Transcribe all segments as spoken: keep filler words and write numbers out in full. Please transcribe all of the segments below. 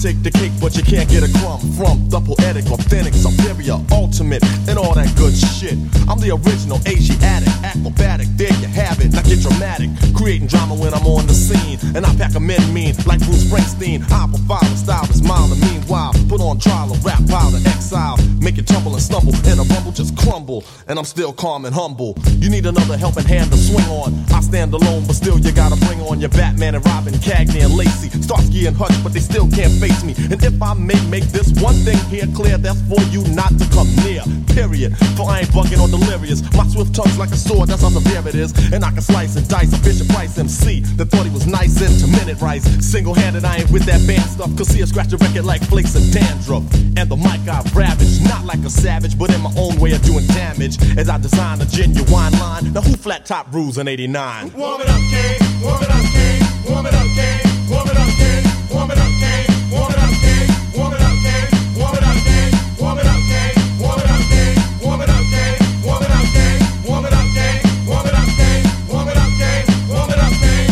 take the cake, but you can't get a crumb from the poetic, authentic, superior, ultimate, and all that good shit. I'm the original Asiatic, acrobatic, there you have it. Now get dramatic, creating drama when I'm on the scene, and I pack 'em in mean like Bruce Springsteen. I profile the style is mild, and meanwhile put on trial a rap pile to exile, make it tumble and stumble, and a rumble just crumble, and I'm still calm and humble. You need another helping hand to swing on. I stand alone, but still you gotta bring on your Batman and Robin, Cagney and Lacey, Starsky and Hutch, but they still can't face me. And if I may make this one thing here clear, that's for you not to come near, period. For I ain't bugging or delirious. My swift tongue's like a sword, that's how severe it is. And I can slice and dice a Fisher Price M C that thought he was nice into minute rice. Single-handed, I ain't with that band stuff, cause see I scratch a record like flakes of dandruff. And the mic I ravage, not like a savage, but in my own way of doing damage, as I design a genuine line. Now who flat top rules in eighty-nine? Warm it up, King, warm it up, King, warm it up, King, warm it up, King, warm it up, King, warm it up, King, warm it up, King, warm it up, King, warm it up, King, warm it up, King, warm it up, King, warm it up, King, warm it up, King, warm it up, King, warm it up, King, warm it up, King.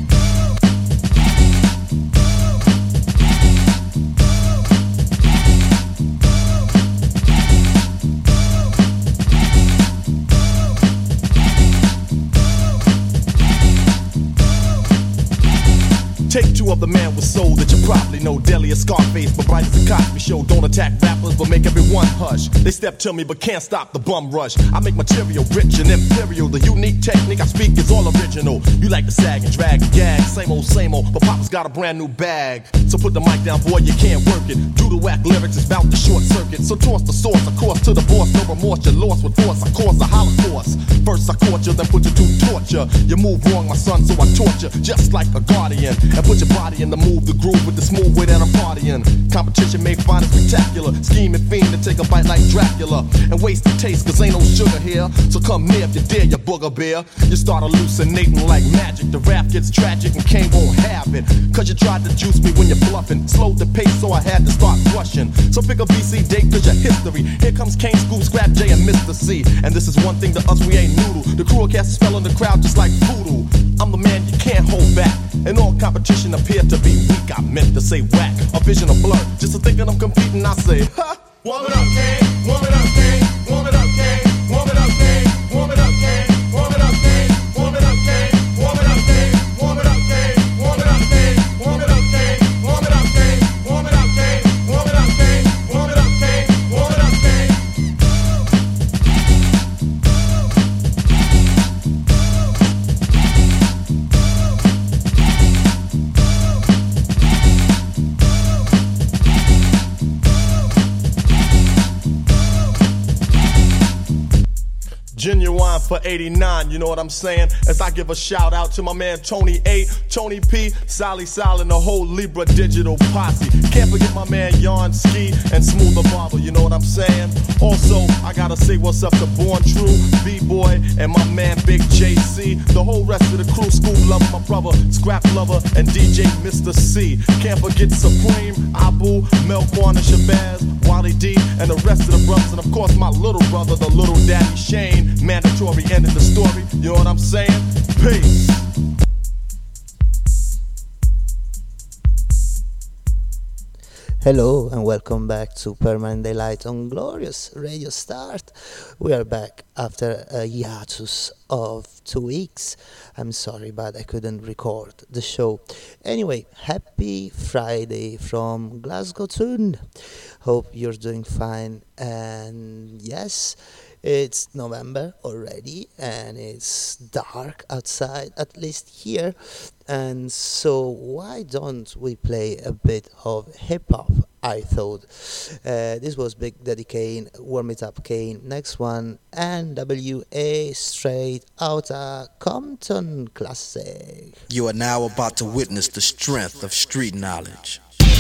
Take two of the man with soul that you probably know. Deli or Scarface, but bright as a Cosby Show. Don't attack rappers, but make everyone hush. They step to me, but can't stop the bum rush. I make material rich and imperial. The unique technique I speak is all original. You like to sag and drag and gag, same old, same old. But Papa's got a brand new bag. So put the mic down, boy, you can't work it. Do the whack lyrics, it's bout to short circuit. So toss the source, of course, to the boss. No remorse, you're lost with force. I cause a holocaust. First I caught you, then put you to torture. You move wrong, my son, so I torture. Just like a guardian. And put your body in the move, the groove with the smooth way that I'm partying. Competition may find it spectacular. Scheming fiend to take a bite like Dracula and waste the taste, cause ain't no sugar here. So come near if you dare, you booger bear. You start hallucinating like magic. The rap gets tragic and Kane won't have it, cause you tried to juice me when you're bluffing. Slowed the pace, so I had to start rushing. So pick a B C date, cause your history. Here comes Kane, Scoop, Scrap J, and Mister C. And this is one thing to us, we ain't noodle. The crew cast a spell on the crowd just like voodoo. I'm the man you can't hold back. And all competition appeared to be weak. I meant to say whack, a vision of blur. Just to thinking I'm competing, I say, ha! Warm it up, King, warm it up, King, warm it up, King, warm it up, King, warm it up, King, warm it up, King, warm it up, King, warm it up, King, warm it up, King, warm it up, King, warm it up, King, warm it up, King, warm it up, King, warm it up, King, warm it up, King, warm it up, King. Genuine for eighty-nine, you know what I'm saying? As I give a shout out to my man Tony A, Tony P, Sally Sal, and the whole Libra Digital posse. Can't forget my man Yarn Ski and Smooth the Barber, you know what I'm saying? Also, I gotta say what's up to Born True, B-Boy, and my man Big J C. The whole rest of the crew, School Lover, my brother, Scrap Lover, and D J Mister C. Can't forget Supreme, Abu, Melquan and Shabazz, Wally D, and the rest of the brothers. And of course my little brother, the little daddy Shane. Mandatory end of the story, you know what I'm saying? Peace. Hello and welcome back to Permanent Daylight on Glorious Radio Start. We are back after a hiatus of two weeks. I'm sorry, but I couldn't record the show. Anyway, happy Friday from Glasgow Tune. Hope you're doing fine. And yes, it's November already and it's dark outside, at least here. And so why don't we play a bit of hip-hop, I thought. Uh, this was Big Daddy Kane, Warm It Up Kane. Next one, N W A, straight outta Compton classic. You are now about to witness the strength of street knowledge.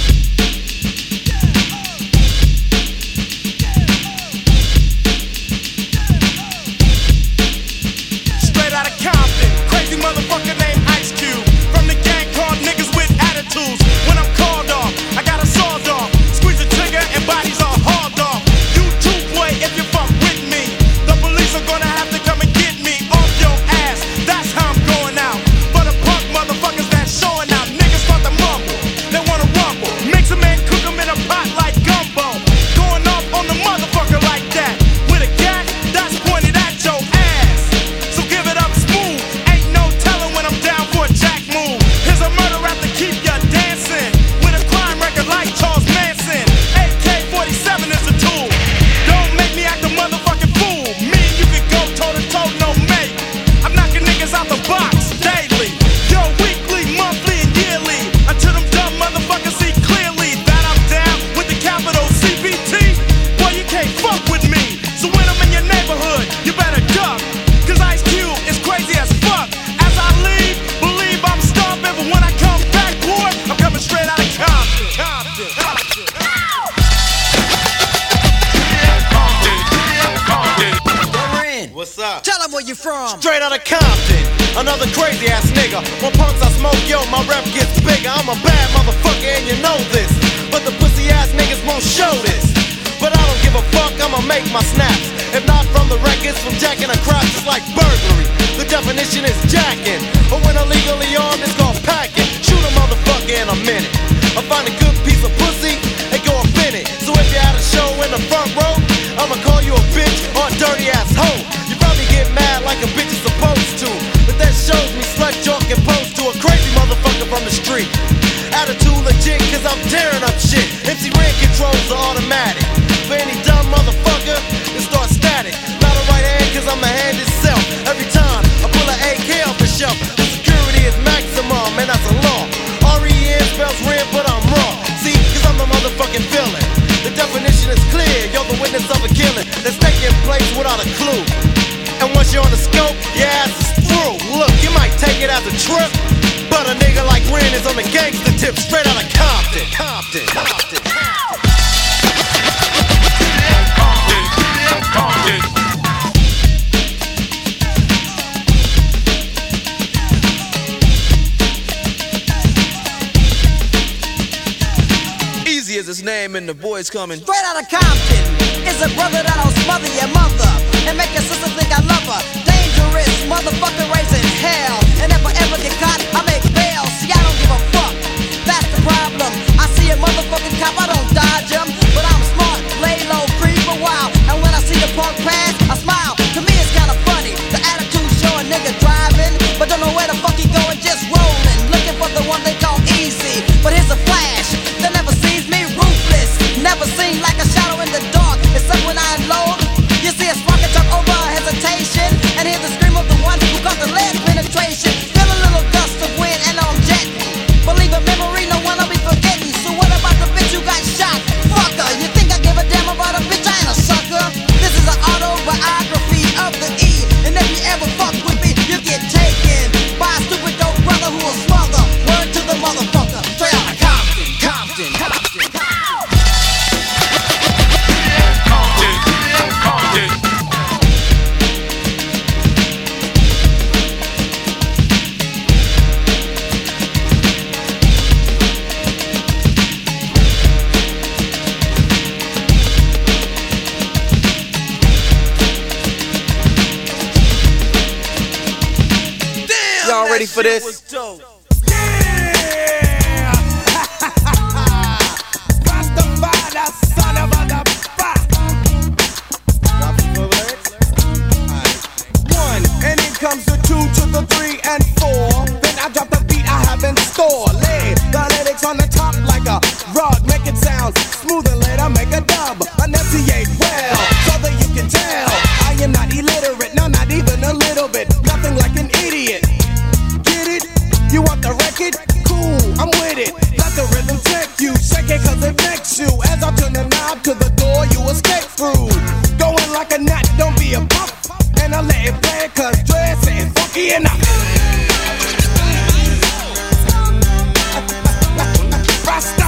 Crazy motherfucker named Ice Cube. From the gang called niggas with attitudes. When I'm called off, I got a sawed off. Squeeze the trigger and bodies are hauled off. You too, boy, if you fuck with me. The police are gonna have to come and get me off your ass. That's how I'm going out. For the punk motherfuckers that's showing out. Niggas start to mumble, they wanna rumble. Makes a man from? Straight out of Compton, another crazy ass nigga. When punks I smoke, yo, my rep gets bigger. I'm a bad motherfucker and you know this, but the pussy ass niggas won't show this. But I don't give a fuck, I'ma make my snaps. If not from the records, from jacking a crotch, it's like burglary. The definition is jacking, but when illegally armed, it's called packing. Shoot a motherfucker in a minute. I find a good piece of pussy and go up in it. So if you had a show in the front row, I'ma call you a bitch or a dirty ass hoe. You probably get mad like a bitch is supposed to, but that shows me slut joke and pose to a crazy motherfucker from the street. Attitude legit, cause I'm tearing up shit. M C Ren controls are automatic. For any dumb motherfucker, it starts static. Not a right hand, cause I'm the hand itself. Every time I pull an A K off the shelf, the security is maximum, and that's a law. R E N spells red, but I'm raw. See, cause I'm the motherfucking villain. The definition is clear, you're the witness of a killing that's taking place without a clue. And once you're on the scope, your ass is through. Look, you might take it as a trip, but a nigga like Ren is on the gangster tip, straight out of Compton. Compton, Compton, Compton. Easy as his name and the boys coming. Straight out of Compton is a brother that'll smother your mother and make your sister think I love her. Dangerous motherfucker raising hell, and if I ever get caught, I make bail. See, I don't give a fuck. That's the problem. I see a motherfucking cop, I don't dodge him, but I'm smart, lay low, creep a while. And when I see the punk pass, I smile. To me, it's kinda funny. The attitude show a nigga driving, but don't know where the fuck he going, just rolling, looking for the one they call easy. But here's a flash that never sees me, ruthless. Never seen like a shadow in the dark, except when I unload. You see a spark and talk over hesitation, and hear the scream of the one who got the lead penetration. Feel a little gust of wind and I'm jetting. Believe a memory, no one I'll be forgetting. So what about the bitch who got shot? Fucker, you think I give a damn about a bitch? I ain't a sucker. This is an autobiography of the E, and if you ever fuck with me, you get taken by a stupid dope brother who will smother. Word to the motherfucker. Straight out of Compton, Compton, Compton, Compton. Y'all ready for this? And in comes the two to the three and four. Then I drop the beat I have in store. Lay the lyrics on the top like a rug. Make it sound smooth and later make a dub. Enunciate well so that you can tell I am not illiterate, no, not even a little bit. Nothing like an idiot. Get it? You want the record? Cool, I'm with it. Let the rhythm take you. Shake it cause it makes you. As I turn the knob to the door you escape through. Going like a gnat, don't be a pup. And I let it play cause dress ain't funky enough. Rasta.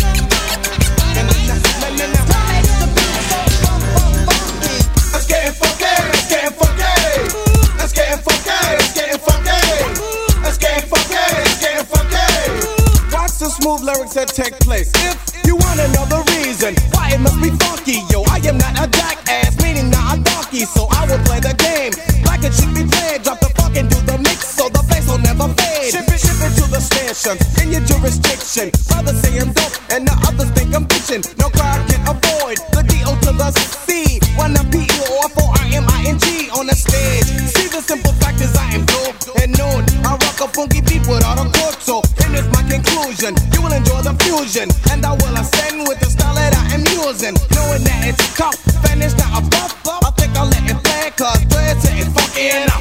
Let's get funky, let's get funky. Let's get funky, let's get funky. Let's get funky, let's get funky. Watch the smooth lyrics that take place. If you wanna know the reason why it must be funky, yo, I am not a jackass, meaning not a donkey, so I will play the game like it should be played. Drop the funk and do the mix so the bass will never fade. Ship it, ship it to the station in your jurisdiction. Brothers say I'm dope and the others think I'm bitchin'. No crowd can avoid the D O to the C. One a P E or four R M I N G on the stage. See the simple fact is I am dope and known. I rock a funky beat without a chord, so and it's my conclusion. You will enjoy the fusion, and I will ascend with the style that I am using. Knowing that it's tough, and it's not a buff. I think I'll let it play, cause dress ain't funky enough.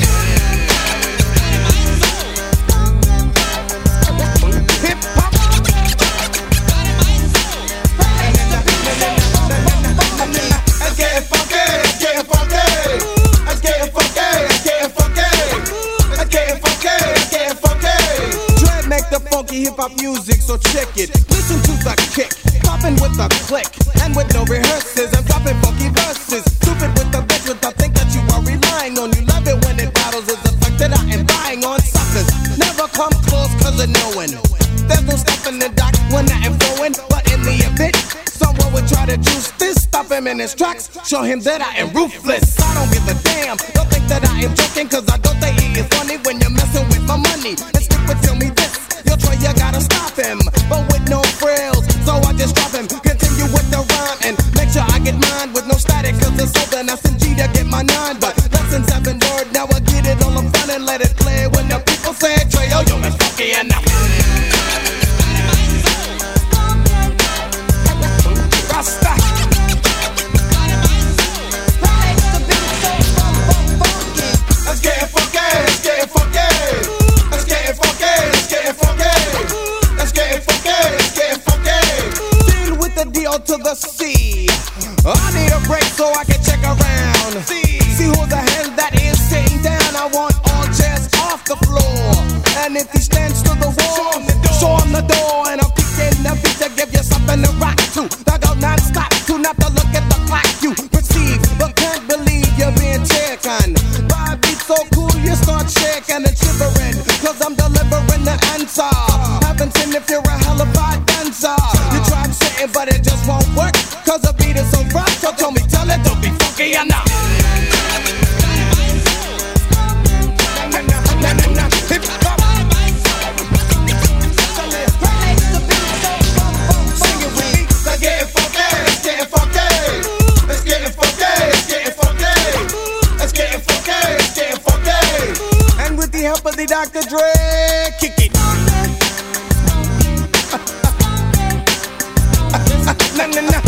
Hip hop. Let's get funky, let's get funky. Let's get funky, let's get funky. Let's get funky, let's get funky. Dread make the funky hip hop music, so check it. Listen to the kick, popping with the click, and with no rehearsals, I'm dropping funky verses. Stupid with the bitch, with the think that you are relying on. You love it when it bounces. never come close cause of knowing. There's no stopping the doc when I am flowing. But in the event, someone would try to juice this, stop him in his tracks, show him that I am ruthless. I don't give a damn, don't think that I am joking, cause I don't think he is funny when you're messing with my money. And stick with tell me this, you'll try, you gotta stop him, but with no frills, so I just drop him. Continue with the rhyme and make sure I get mine with no static, cause it's open S M G to get my nine. But lessons have been learned, now I get it all in front and let it play. When the people say, Trey, yo, yo, it's funky and now Rasta. Let's get it funky, let's get it funky. Let's get it funky, let's get it funky. Let's get it funky, let's get it funky. Deal with the D O to the C. I need a break so I can check around. See, see who's the hand that is sitting down. I want all chairs off the floor. And if he stands to the wall, show him the door. And I'm kicking the beat to give you something to rock to. Like a non-stop, to not to look at the clock. You perceive, but can't believe you're being taken. By a beat so cool, you start shaking and shivering. Cause I'm delivering the answer. Haven't seen if you're a hellified dancer. You tried sitting, but it just won't work. Cause the beat is so rough, so tell me, tell it, don't be funky enough. Hip hop. Sing it with me. Let's get it funky, let's get it funky. Let's get it funky, let's get it funky. Let's get it funky, let's get it funky. And with the help of the Doctor Dre, kick it. Na na na.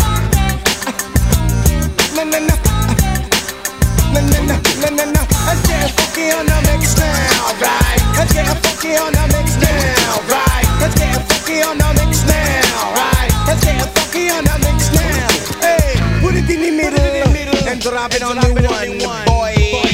Na na na. Na na na, na na na. Let's get funky on the mix now, right? Let's get funky on the mix now, right? Let's get funky on the mix now, right? Let's get funky on the mix now. Hey, put it in the middle and drop it on the one, boy.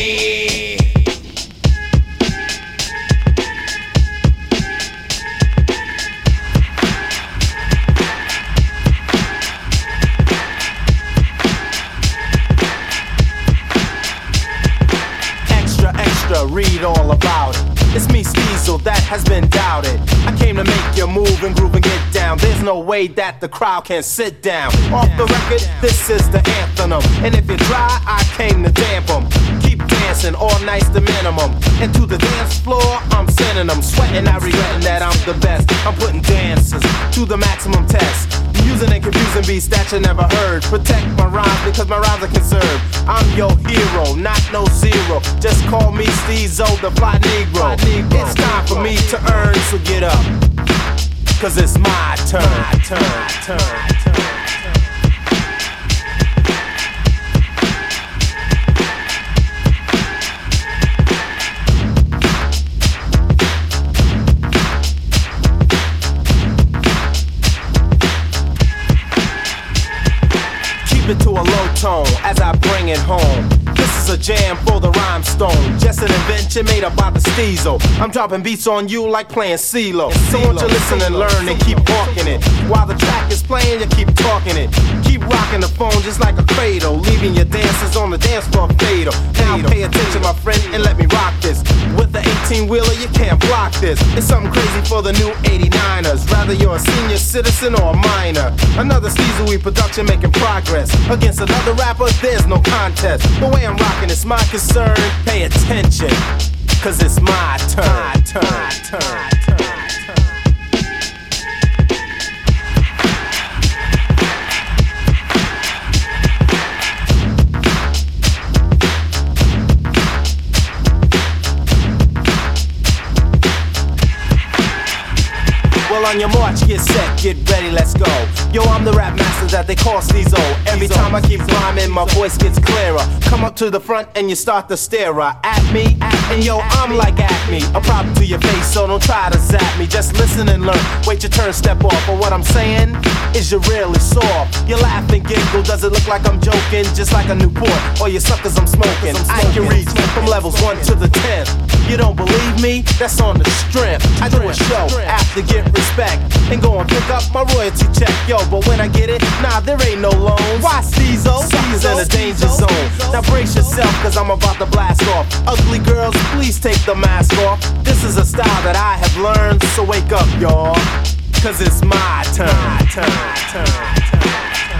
Read all about it. It's me, Steezel, that has been doubted. I came to make you move and groove and get down. There's no way that the crowd can sit down. Off the record, this is the anthem. And if you try, I came to damp 'em. Keep dancing, all night's the minimum. And to the dance floor, I'm sending them. Sweating, I regretting that I'm the best. I'm putting dancers to the maximum test. Using and confusing beats that you never heard. Protect my rhymes because my rhymes are conserved. I'm your hero, not no zero. Just call me Steezo, the fly Negro. It's time for me to earn, so get up. Cause it's my turn, turn, turn, turn. Keep it to a low tone as I bring it home. This is a jam for the rhymestone. Just an invention made up by the Steezo. I'm dropping beats on you like playing CeeLo. So won't you listen and learn and keep walking it. While the track is playing, you keep talking it. Keep rocking the phone just like a cradle, leaving your dancers on the dance floor fatal. Now pay attention, my friend, and let me rock this. With the eighteen-wheeler, you can't block this. It's something crazy for the new eighty-niners. Rather you're a senior citizen or a minor. Another Steezo production making progress. Against another rapper, there's no contest. The way I'm rocking is my concern. Pay attention, cause it's my turn, turn, turn, turn, turn. Well, on your march, get set, get ready, let's go. Yo, I'm the rap master that they call Steezo. Every time I keep rhyming, my voice gets clearer. Come up to the front and you start to stare at me. And yo, I'm like Acme, a problem to your face, so don't try to zap me. Just just listen and learn. Wait your turn, step off. But what I'm saying is you're really soft. You laugh and giggle, does it look like I'm joking? Just like a Newport, or you suckers I'm smoking. I can reach from levels one to the tenth. You don't believe me? That's on the strength. I do a show, after get respect, and go and pick up my royalty check. Yo, but when I get it, nah, there ain't no loans. Why Cezzo? C's in a danger zone. Now brace yourself, cause I'm about to blast off. Ugly girls, please take the mask off. This is a style that I have learned, so wake up, y'all, cause it's my turn, turn, turn, turn.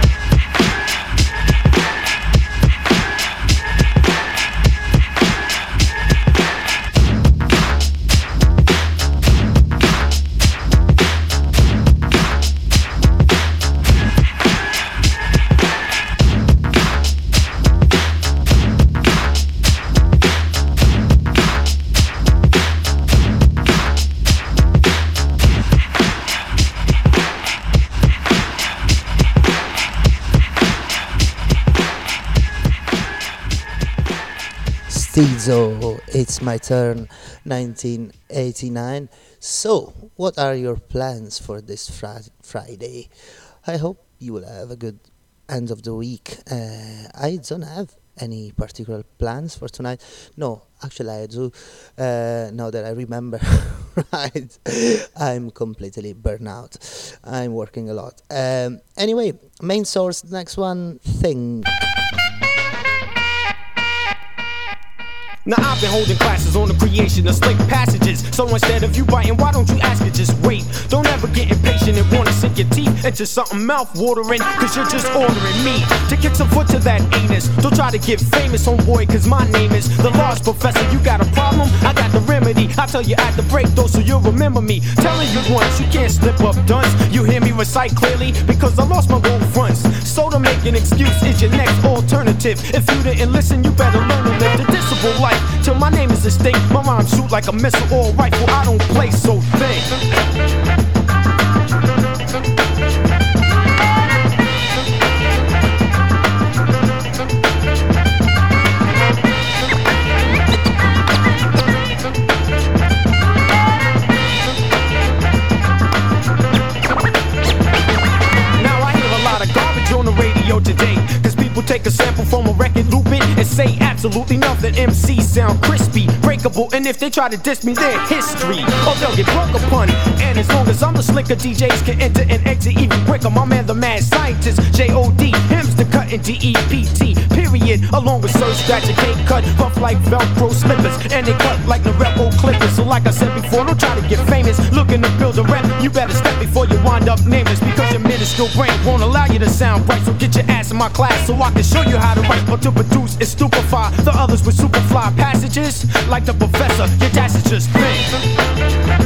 Cezzo, It's My Turn, nineteen eighty-nine. So, what are your plans for this fr- Friday? I hope you will have a good end of the week. Uh, I don't have any particular plans for tonight. No, actually I do. Uh, now that I remember, right, I'm completely burnt out. I'm working a lot. Um, anyway, main source, next one, Think. Now I've been holding classes on the creation of slick passages. So instead of you biting, why don't you ask it, just wait. Don't ever get impatient and wanna sink your teeth into something mouth-watering, cause you're just ordering me to kick some foot to that anus. Don't try to get famous, homeboy, cause my name is the Lost Professor. You got a problem? I got the remedy. I'll tell you at the break though, so you'll remember me. Telling you once, you can't slip up dunce. You hear me recite clearly, because I lost my gold fronts. So to make an excuse is your next alternative. If you didn't listen, you better learn to live the disciple life. Till my name is distinct, my rhymes shoot like a missile or a rifle. I don't play, so think. Now I hear a lot of garbage on the radio today, cause people take a sample from a record, loop it, and say absolutely nothing. M Cs sound crispy, breakable, and if they try to diss me, they're history, or they'll get broke upon. And as long as I'm the slicker, D Js can enter and exit even quicker. My man, the mad scientist, J O D, him's the cut in D E P T, period. Along with Sir Scratch, a cake cut, buff like Velcro slippers, and they cut like Norelco clippers. So like I said before, don't try to get famous, looking to build a rep. You better step before you wind up nameless, because your minuscule brain won't allow you to sound bright. So get your ass in my class, so I can show you how to write or to produce and stupefy the others with superfly passages. Like the professor, your dash is just think.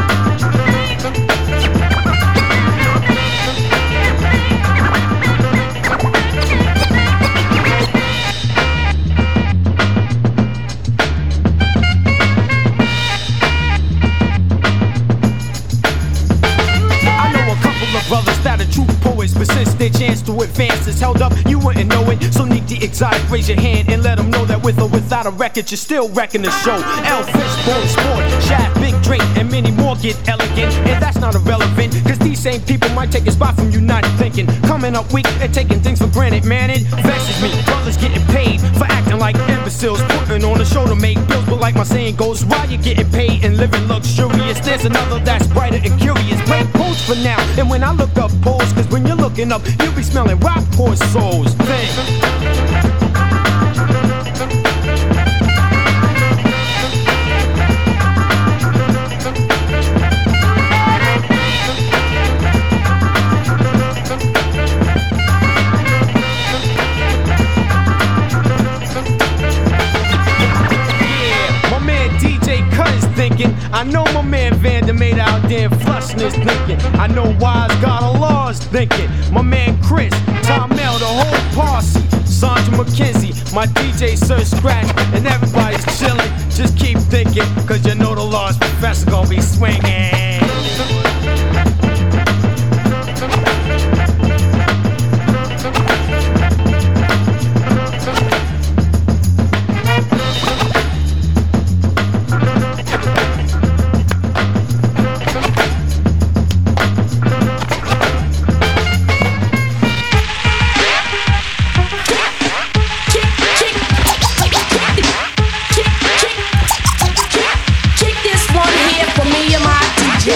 Brothers that are true poets, but since their chance to advance is held up, you wouldn't know it. So need the exotic, raise your hand and let them know that with or without a record, you're still wrecking the show. L Fishbone Sport, Shaft, Big Drake, and many more get elegant. And that's not irrelevant, cause these same people might take a spot from you not thinking. Coming up weak and taking things for granted, man, it vexes me. Brothers getting paid for acting like imbeciles, putting on a show to make bills. But like my saying goes, while you're getting paid and living luxurious, there's another that's brighter and curious. Break post for now, and when I look up polls, cause when you're looking up, you'll be smelling rock poor souls. Think. I know my man Vander made out there flushing his thinking. I know Wise God Allah's thinking. My man Chris, Tom Mel, the whole posse, Sandra McKenzie, my D J Sir Scratch, and everybody's chilling. Just keep thinking, cause you know the Lost Professor gonna be swinging.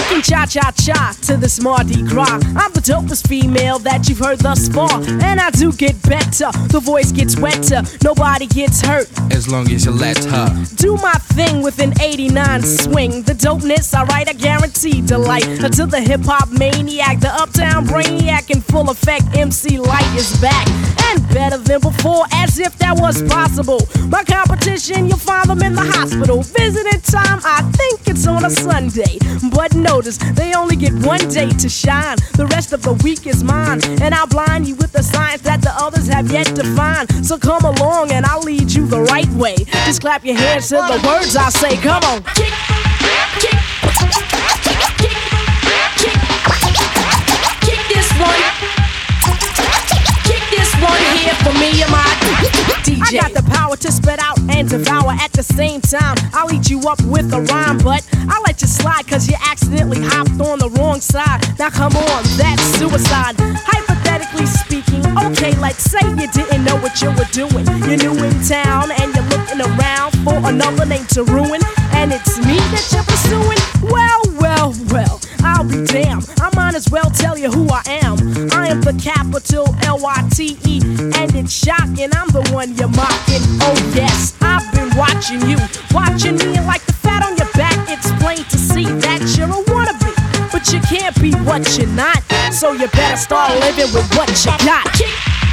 Shaking cha-cha-cha to this Mardi Gras. I'm the dopest female that you've heard thus far. And I do get better, the voice gets wetter, nobody gets hurt. As long as you let her do my thing with an eighty-nine swing. The dopeness, I write, I guarantee delight. Until the hip-hop maniac, the uptown brainiac in full effect, M C Light is back. And better than before, as if that was possible. My competition, you'll find them in the hospital. Visiting time, I think it's on a Sunday. But notice, they only get one day to shine. The rest of the week is mine. And I'll blind you with the science that the others have yet to find. So come along and I'll lead you the right way. Just clap your hands to the words I say. Come on. Kick, kick, kick, kick, kick, kick this one. Kick this one here for me and my D J. I got the power to spit out and devour at the same time. I'll eat you up with a rhyme, but I'll let you slide cause you accidentally hopped on the wrong side. Now come on, that's suicide. Hypothetically speaking, okay, let's say you didn't know what you were doing. You're new in town and you're looking around for another name to ruin. And it's me that you're pursuing? Well, well, well, I'll be damned. I might as well tell you who I am. I am the capital L Y T E, and it's shocking, I'm the one you're mocking. Oh yes, I've been watching you, watching me, and like the fat on your back, it's plain to see that you're a wannabe. But you can't be what you're not, so you better start living with what you got. Kick,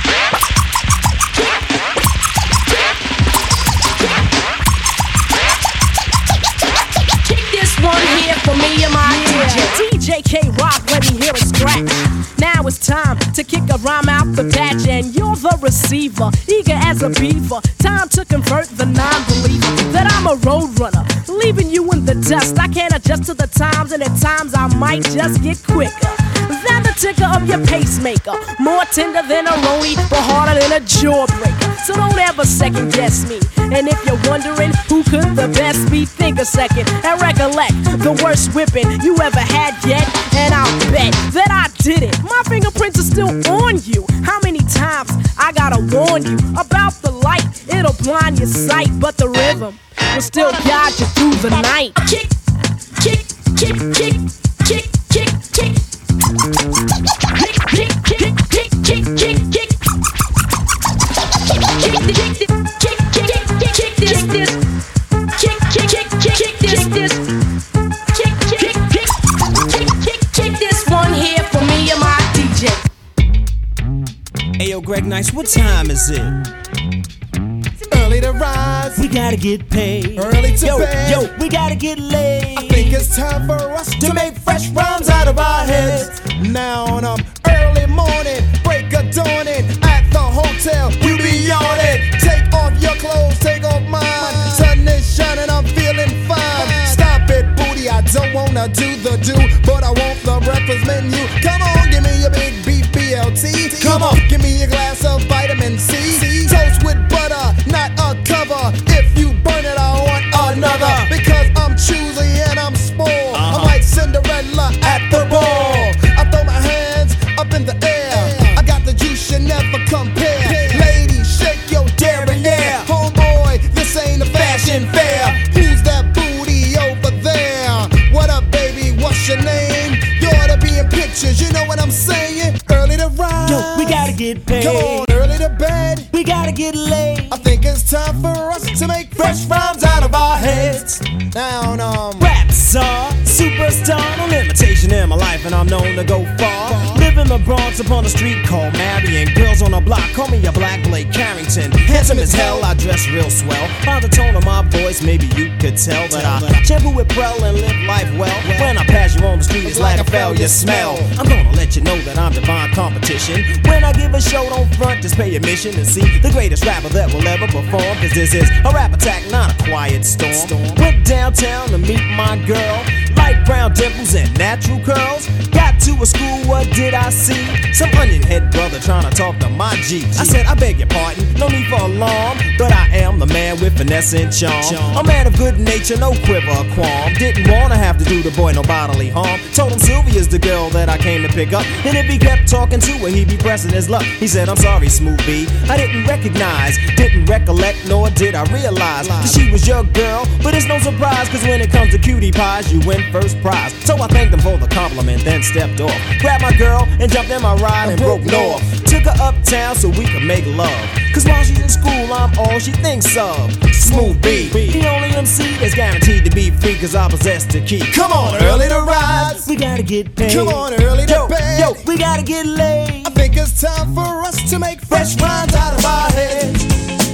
kick this one here for me and my yeah. D J. D J K-Rock, let me hear it scratch. Now it's time to kick a rhyme out the patch, and you're the receiver, eager as a beaver. Time to convert the non-believer that I'm a road runner, leaving you in the dust. I can't adjust to the times, and at times I might just get quicker than the ticker of your pacemaker. More tender than a roni, but harder than a jawbreaker. So don't ever second guess me. And if you're wondering who could the best be, think a second and recollect the worst whipping you ever had yet. And I'll bet that I did it. My fingerprints are still on you. How many times I gotta warn you about the light? It'll blind your sight, but the rhythm will still guide you through the night. Kick, kick, kick, kick, kick, kick, kick. Kick, kick, kick, kick, kick, kick, kick. Kick, kick, kick, kick, kick, kick this, this. Kick, kick, kick, kick this, this. Kick, kick, kick, kick, kick, kick this one here for me and my D J. Ayo, Greg Nice, what time is it? Early to rise, we gotta get paid. Early to yo, bed, yo, we gotta get laid. I think it's time for us to, to make fresh rhymes out of our heads. Now on um, early morning, break of dawning at the hotel, you be on it. Take off your clothes, take off mine. Sun is shining, I'm feeling fine. Stop it, booty, I don't wanna do the do, but I want the breakfast menu. Come on, give me your big beef B L T. Come on, give me a glass of vitamin C. Toast with butter, not a cover. If you burn it, I want another. Because I'm choosy and I'm spoiled. Uh-huh. I'm like Cinderella at the ball. I throw my hands up in the air. I got the juice you never compare. Ladies, shake your derriere. Homeboy, this ain't a fashion fair. Who's that booty over there? What up, baby? What's your name? You ought to be in pictures, you know what I'm saying? Early to rise, yo, we gotta get paid. Come on, early to bed, we gotta get laid. I think it's time for us to make fresh rhymes out of our heads. Down, um, rap star, superstar, no limitation in my life, and I'm known to go far. Live in the Bronx upon a street called Marion. Girls on the block call me a Black Blake Carrington. Handsome as hell, I dress real swell. By the tone of my voice, maybe you could tell that I shampoo with Prel and live life well. When I pass you on the street, it's like a failure smell. I'm gonna let you know that I'm divine competition. When I give a show, don't front, just pay admission to see the greatest rapper that will ever perform. Cause this is a rap attack, not a quiet storm. Went downtown to meet my girl. Light brown dimples and natural curls. Got to a school, what did I see? Some onion head brother trying to talk to my G. I said, I beg your pardon, no need for alarm, but I am the man with finesse and charm. A man of good nature, no quiver or qualm. Didn't wanna have to do the boy no bodily harm. Told him Sylvia's the girl that I came to pick up, and if he kept talking to her, he'd be pressing his luck. He said, I'm sorry, Smooth B, I didn't recognize, didn't recollect, nor did I realize that she was your girl. But it's no surprise, cause when it comes to cutie pies, you went first prize. So I thanked them for the compliment, then stepped off. Grabbed my girl and jumped in my ride and broke north. Took her uptown so we could make love. Cause while she's in school, I'm all she thinks of. Smooth B, the only M C that's guaranteed to be free, cause I possess the key. Come on, early to rise. We gotta get paid. Come on, early to yo, bed. Yo, we gotta get laid. I think it's time for us to make fresh rhymes out of our heads.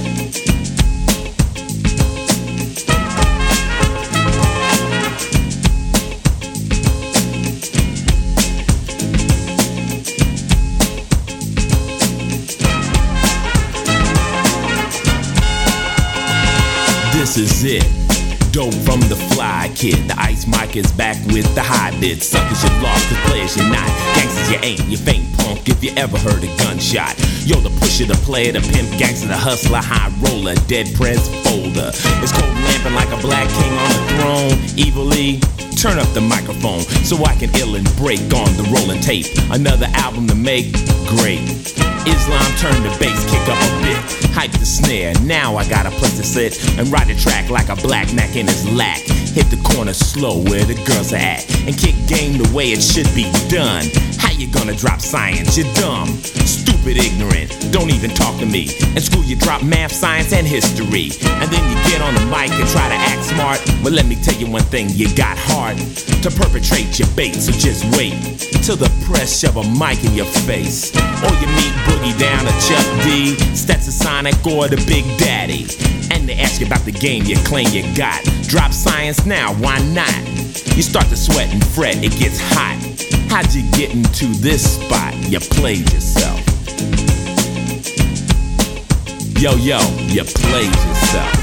This is it. Dope from the fly kid. The ice mic is back with the high bits. Suckers you lost, the players you're not. Gangsters you ain't, you faint punk if you ever heard a gunshot. Yo, the pusher, the player, the pimp, gangster, the hustler, high roller, dead prez folder. It's cold lamping like a black king on a throne. Evilly, turn up the microphone so I can ill and break on the rolling tape. Another album to make, great. Islam turn the bass, kick up a bit. Hype the snare, now I got a place to sit and ride the track like a black Mac in his lack. Hit the corner slow where the girls are at and kick game the way it should be done. How you gonna drop science? You're dumb, stupid, ignorant, don't even talk to me. In school you drop math, science, and history, and then you get on the mic and try to act smart. But let me tell you one thing, you got heart to perpetrate your bait, so just wait till the press shove a mic in your face. Or you meet Boogie Down or Chuck D, Stetsasonic or the Big Daddy, and they ask you about the game you claim you got. Drop science now, why not? You start to sweat and fret, it gets hot. How'd you get into this spot? You played yourself. Yo, yo, you played yourself.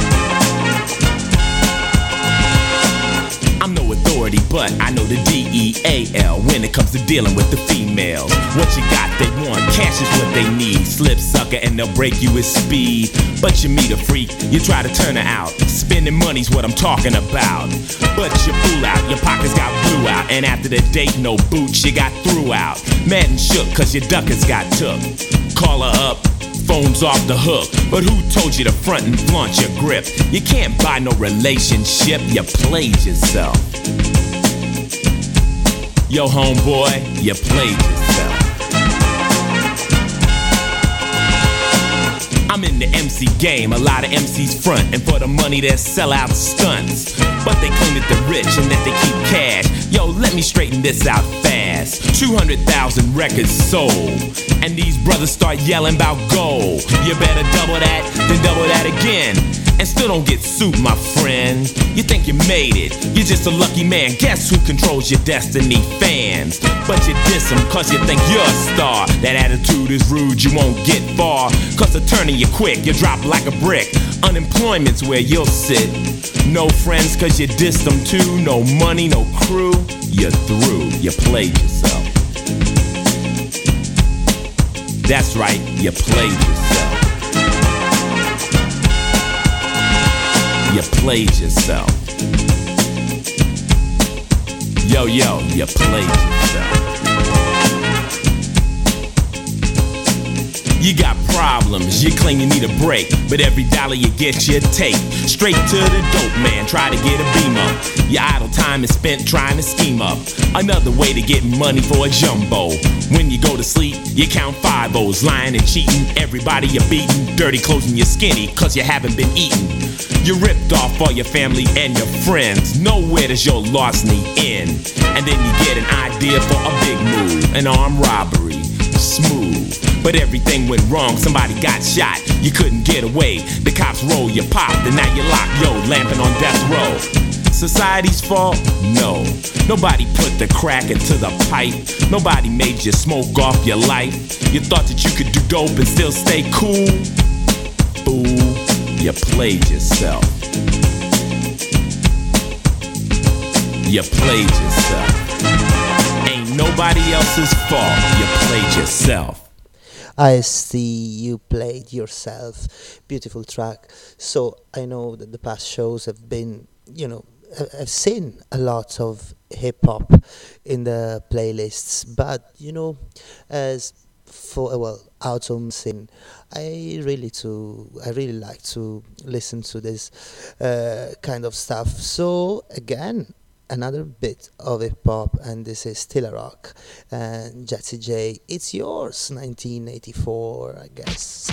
I'm no authority, but I know the D E A L when it comes to dealing with the females. What you got, they want, cash is what they need. Slip sucker and they'll break you with speed. But you meet a freak, you try to turn her out. Spending money's what I'm talking about. But you fool out, your pockets got blew out. And after the date, no boots, you got threw out. Mad and shook cause your duckers got took. Call her up, phone's off the hook. But who told you to front and flaunt your grip? You can't buy no relationship, you played yourself. Yo, homeboy, you played yourself. I'm in the M C game, a lot of M Cs front, and for the money they sell out stunts. But they claim that they're rich and that they keep cash. Yo, let me straighten this out fast. two hundred thousand records sold, and these brothers start yelling about gold. You better double that, then double that again, and still don't get sued, my friend. You think you made it, you're just a lucky man. Guess who controls your destiny? Fans. But you diss them cause you think you're a star. That attitude is rude, you won't get far. Cause they're turning you quick, you drop like a brick. Unemployment's where you'll sit. No friends cause you dissed them too. No money, no crew, you're through. You played yourself. That's right, you played yourself. You played yourself. Yo, yo, you played yourself. You got problems, you claim you need a break, but every dollar you get you take straight to the dope man, try to get a beam up. Your idle time is spent trying to scheme up another way to get money for a jumbo. When you go to sleep, you count five O's, lying and cheating. Everybody you're beating, dirty clothes and you're skinny, cause you haven't been eating. You ripped off all your family and your friends. Nowhere does your larceny end. And then you get an idea for a big move, an armed robbery, smooth. But everything went wrong, somebody got shot. You couldn't get away, the cops roll you popped, and now you're locked, yo, lamping on death row. Society's fault? No. Nobody put the crack into the pipe. Nobody made you smoke off your life. You thought that you could do dope and still stay cool? Fool, you played yourself. You played yourself. Ain't nobody else's fault, you played yourself. I see you played yourself. Beautiful track. So I know that the past shows have been, you know, I- I've seen a lot of hip hop in the playlists, but you know, as for uh, well, autumn scene, I really to I really like to listen to this uh, kind of stuff. So again, another bit of hip hop, and this is still a rock. And Jazzy J, it's yours, nineteen eighty-four, I guess.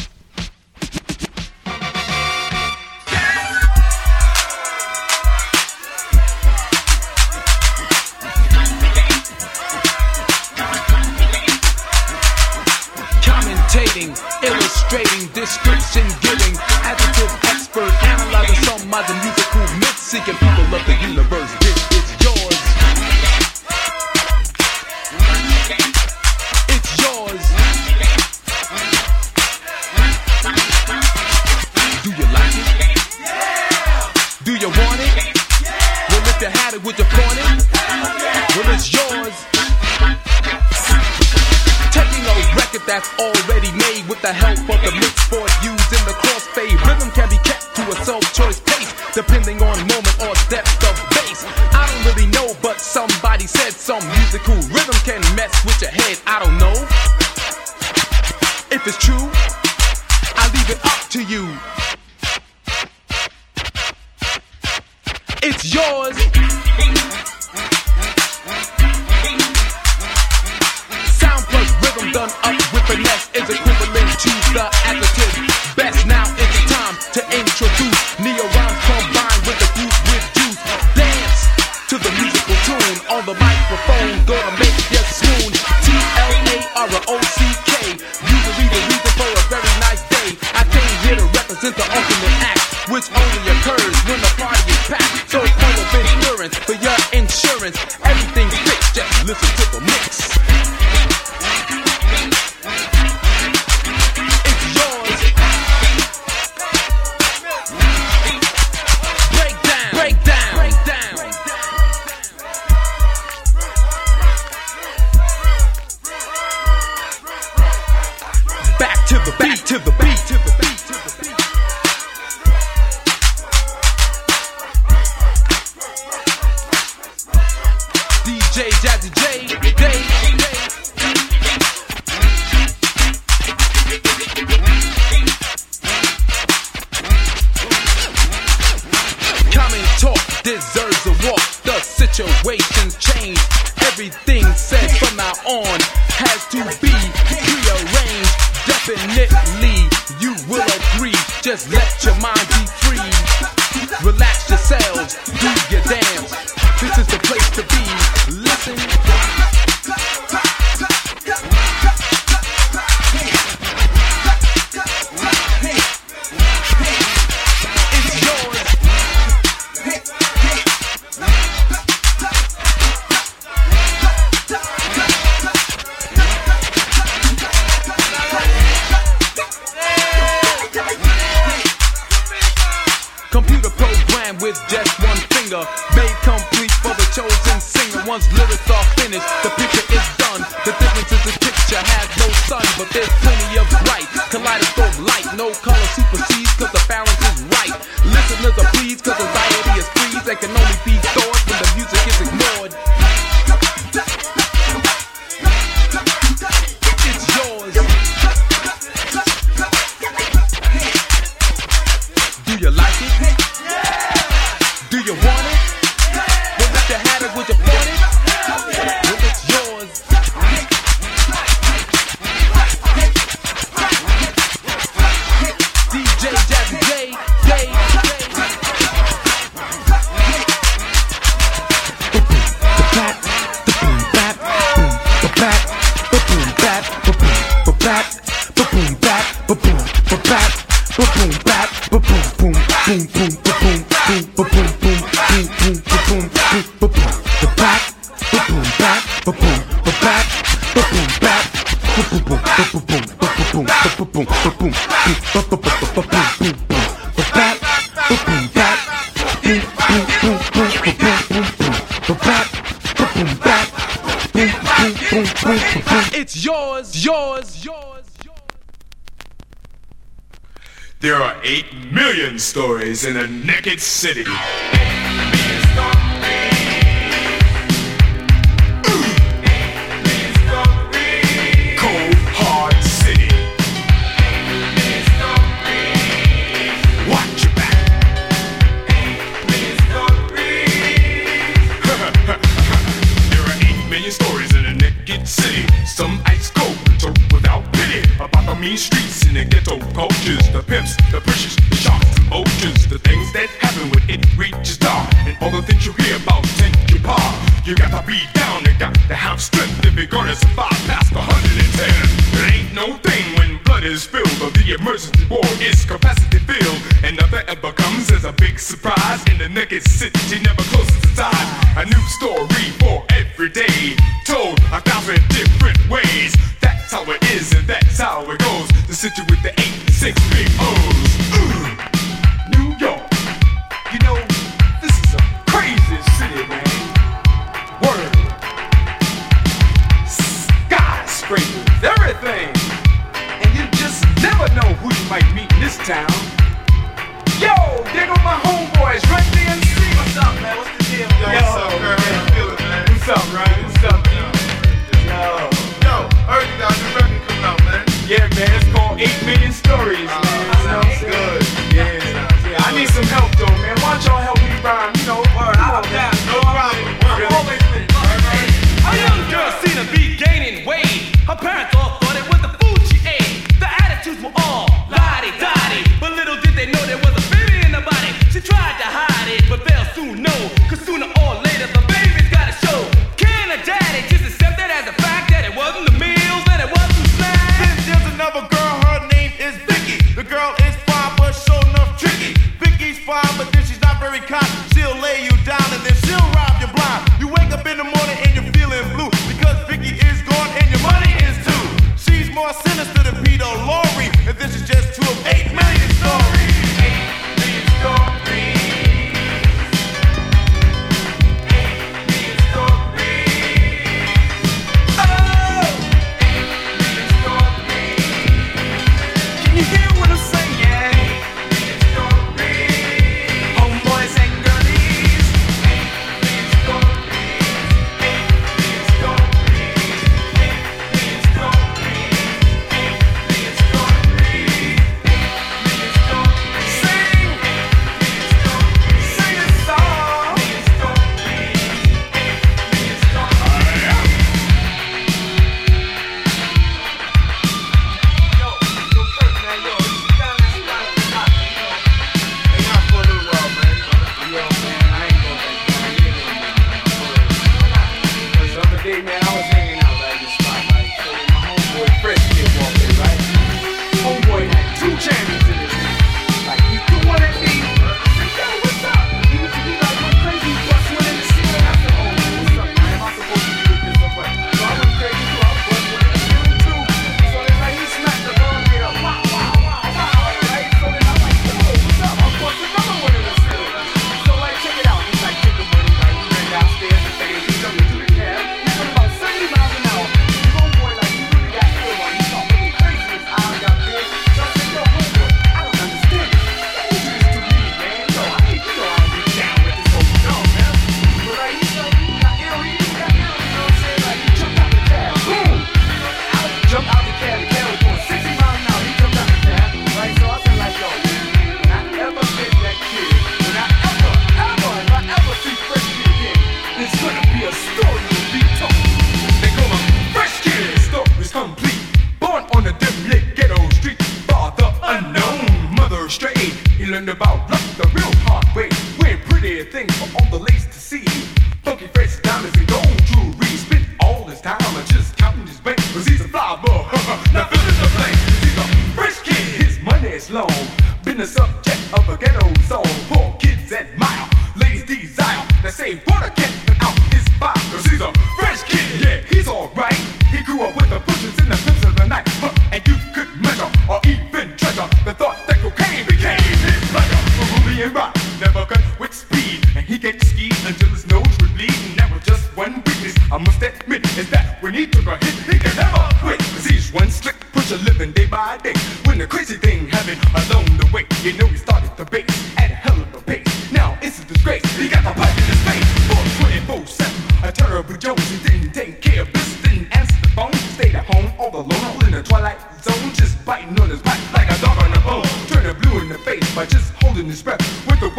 Commentating, illustrating, description giving, adjective expert, analyzing some of the musical myths, seeking people of the universe. This is yours. It's yours. Do you like it? Yeah. Do you want it? Yeah. Well, if you had it, would you flaunt it? Yeah. Well, it's yours. Taking a record that's already made with the help of the mix board used in the crossfade. Rhythm can be kept to a self-choice pace, depending on moment or depth of bass. I don't really know, but somebody said some musical rhythm can mess with your head. I don't know if it's true. I leave it up to you. It's yours. Rhythm done up with finesse is equivalent to the adjective best. Now it's time to introduce neo-rhymes combined with the group with juice. Dance to the musical tune on the microphone, gonna make you swoon. T L A R O C K, usually the reason for a very nice day. I came here to represent the ultimate act, which only occurs when the party is packed. So full of insurance for your insurance, everything's fixed, just listen to the mix. To the beat, to the beat, to the beat. D J Jazzy J, J, Common talk deserves a walk. The situation's changed. Everything said from now on has to be prearranged. Definitely, you will agree. Just let your mind be free. Relax yourselves, do your dance. This is the place to be. Listen. It's yours. Computer program with just one finger, made complete for the chosen singer. Once lyrics are finished, the picture is done. The difference is this picture has no sun, but there's plenty of bright. Kaleidoscope light, no color supersedes, cause the balance is right. Listeners are pleased, cause anxiety is freeze and can only be stored when the music is ignored. It's yours. Do you like it? Do you want it? Well, if you had it, would you want it? Well, it's yours. D J Jazzy J, J, It's yours, yours, yours, yours. There are eight million stories in a naked city. Cold, hard city. Watch your back. million stories in a naked city. Some ice cold, so without pity. About the mean streets and the ghetto cultures. The pimps, the pushes, the sharks and vultures. The things that happen when it reaches dark. And all the things you hear about tend to par. You got to be down and got to have strength if you're gonna survive past one hundred ten. It ain't no thing when blood is spilled or the emergency ward is capacity filled. And nothing ever comes as a big surprise. In the naked city never closes its eyes. A new story for every day, told a thousand different ways. That's how it is and that's how it goes. The city with the eighty-six big O's. Ooh. New York, you know, this is a crazy city, man. Word. Skyscrapers, everything. And you just never know who you might meet in this town. Yo, there go my homeboys, Run D M C. What's up, man? What's the deal? Yo, yo what's up, girl? How you feeling, man? What's up, Ryan? What's up, yo? Yo, yo, heard you got a new record coming out, man. Yeah, man, it's called eight million Stories, uh, man. You know what I'm saying? Good. Yeah. yeah. I need some help, though, man. Why don't y'all help me rhyme? You know, word, I'll down. No problem. I've always been. A young girl seemed to be gaining weight. Her parents all thought it was the food she ate. The attitudes were all la-di-da-di, but little did they know there was a baby in the body. She tried to hide it, but they'll soon know, cause sooner or later the baby's gotta show. Can a daddy just accept it as a fact that it wasn't the meals, that it wasn't snacks? Then there's another girl, her name is Vicky. The girl is fine, but sure enough tricky. Vicky's fine, but then she's not very kind. She'll lay you down and then she'll rob you blind. You wake up in the morning and you're feeling blue, because Vicky is gone and your money is too. She's more sinister than Peter Lorre, and this is just two of eight million stories. Eight million stories. Eight million stories. Oh! Eight million stories. Can you hear what I'm saying? Eight million stories. Homeboys and girlies. Eight million stories. Eight million stories. Eight million stories.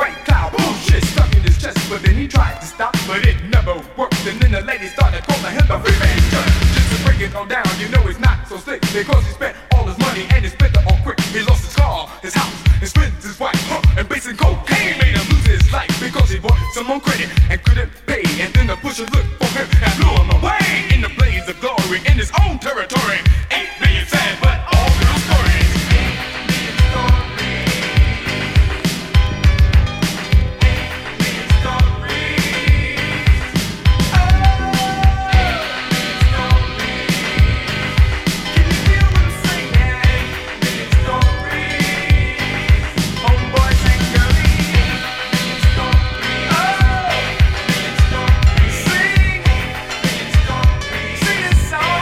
But then he tried to stop, but it never worked. And then the lady started calling him the because he spent all his money and he spent it all quick. He lost his car, his house, his friends, his wife, huh, and basic cocaine made him lose his life because he bought some on credit and couldn't pay. And then the pusher looked for him and blew him away in the blaze of glory in his own territory. Eight million sad, but all real stories. Eight million stories. Eight million stories. Oh, stories. Can you feel what I'm saying? Eight million stories. Homeboys and girlies. Eight million stories. Oh, million stories. Sing. Million stories. Sing this song.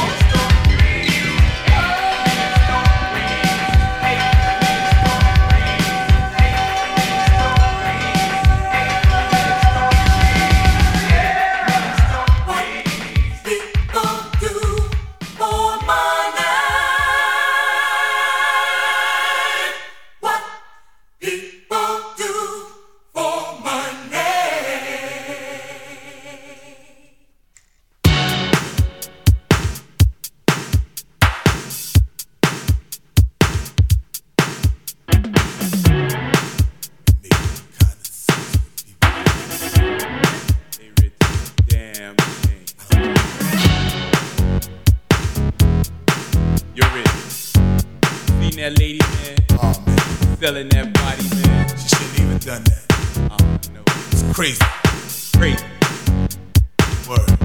That lady, man. Oh, man. Selling that body, man. She shouldn't even done that. Oh, no. It's crazy. Crazy. Word.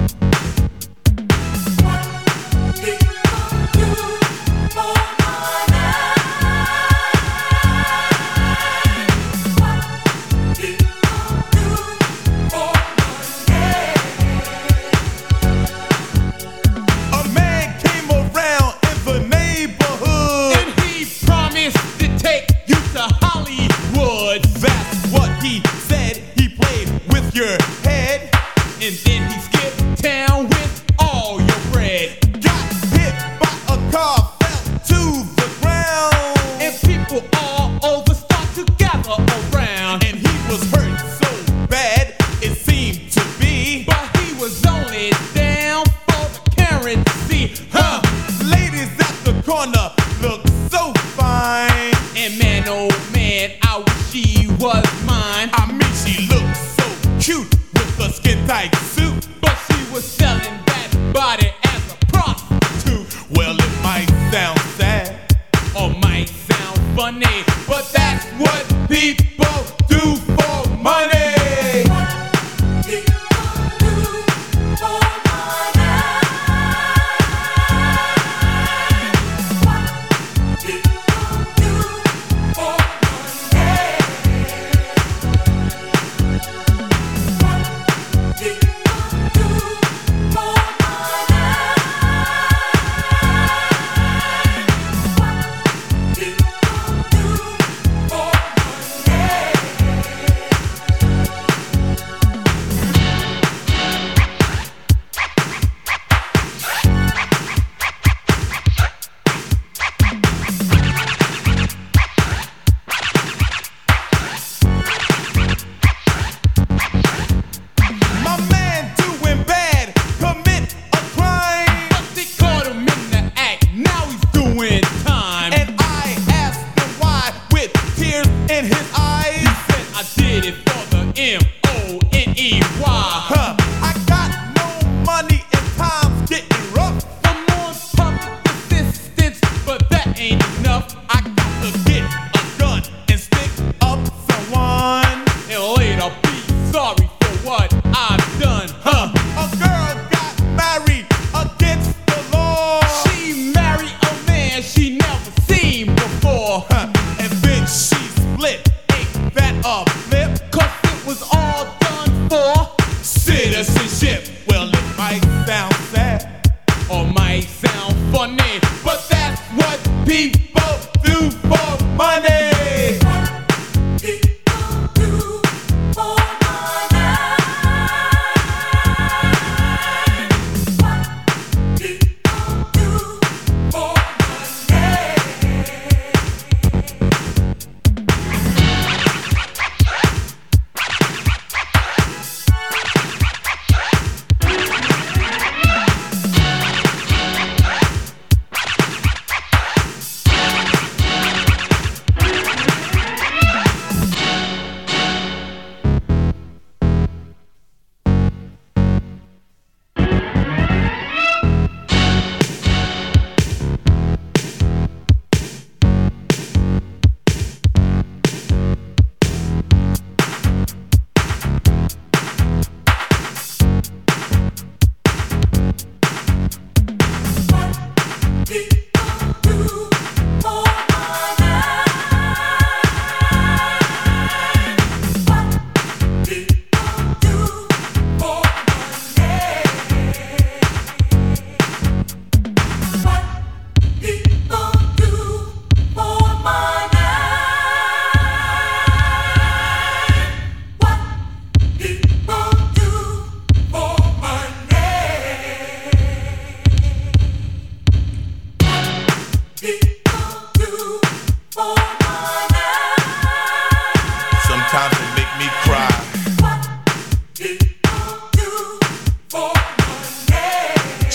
Your head, and then he skipped town with all your bread. Got hit by a car, fell to the ground, and people all over start to gather around. And he was hurt so bad, it seemed to be, but he was only down for the currency. Huh? Ladies at the corner look so fine, and man, oh man, I wish she was mine. I mean, she looks so cute with a skin tight suit, but she was selling that body as a prostitute. Well, it might sound sad or might sound funny, but that's what people do for money.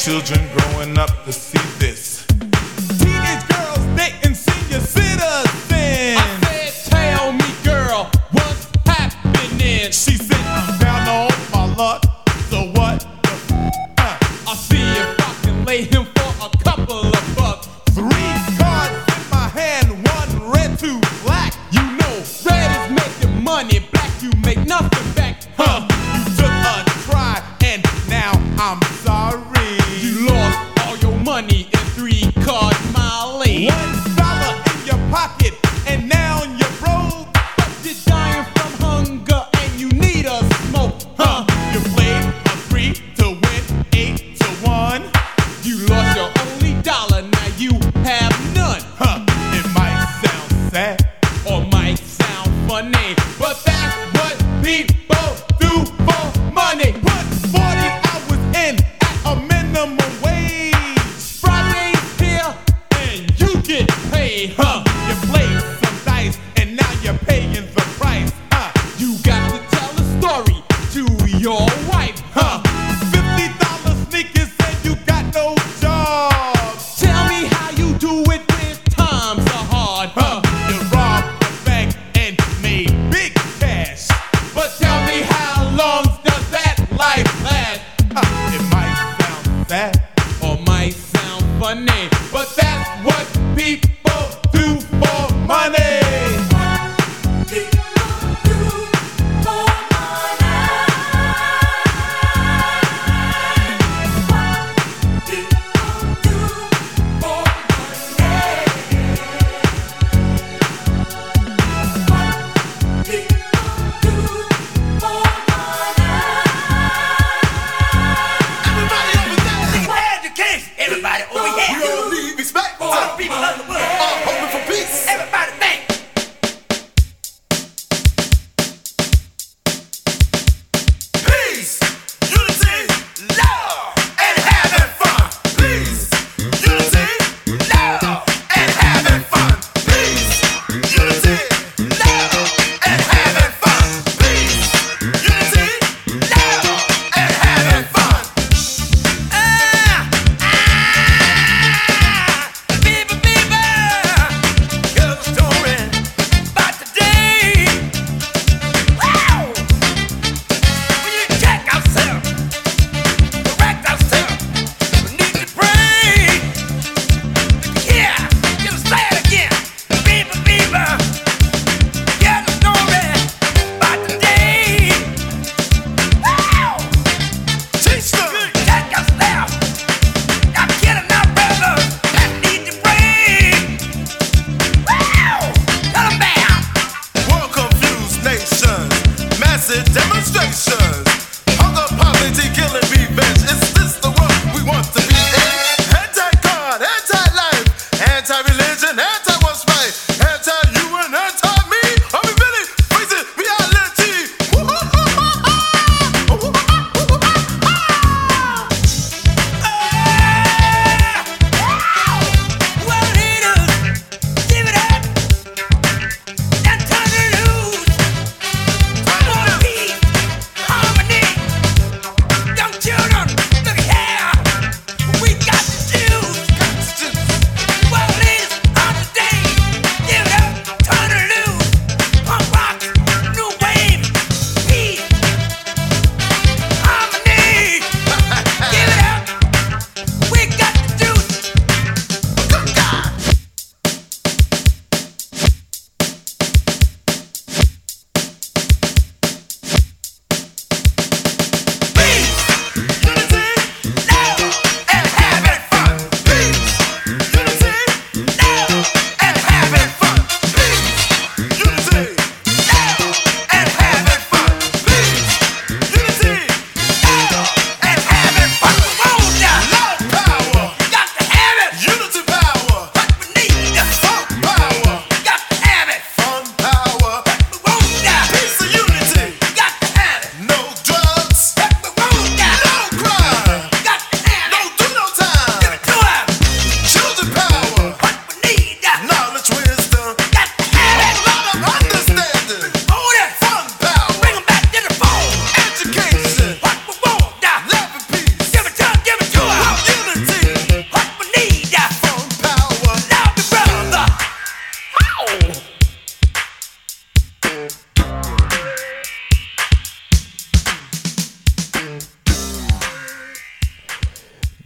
children growing up to see this. Teenage girls dating senior citizens. I said, tell me, girl, what's happening? She said, I'm down on my luck. So what the f? Uh, I'll see if I can lay him for a couple of bucks. Three cards in my hand, one red, two black. You know, red is making money, black you make nothing back. Huh? You took a try, and now I'm sorry. You lost all your money in three cards, Molly. One dollar in your pocket, and now you're broke. But you're dying from hunger, and you need a smoke. Huh? You played a three to win eight to one. You lost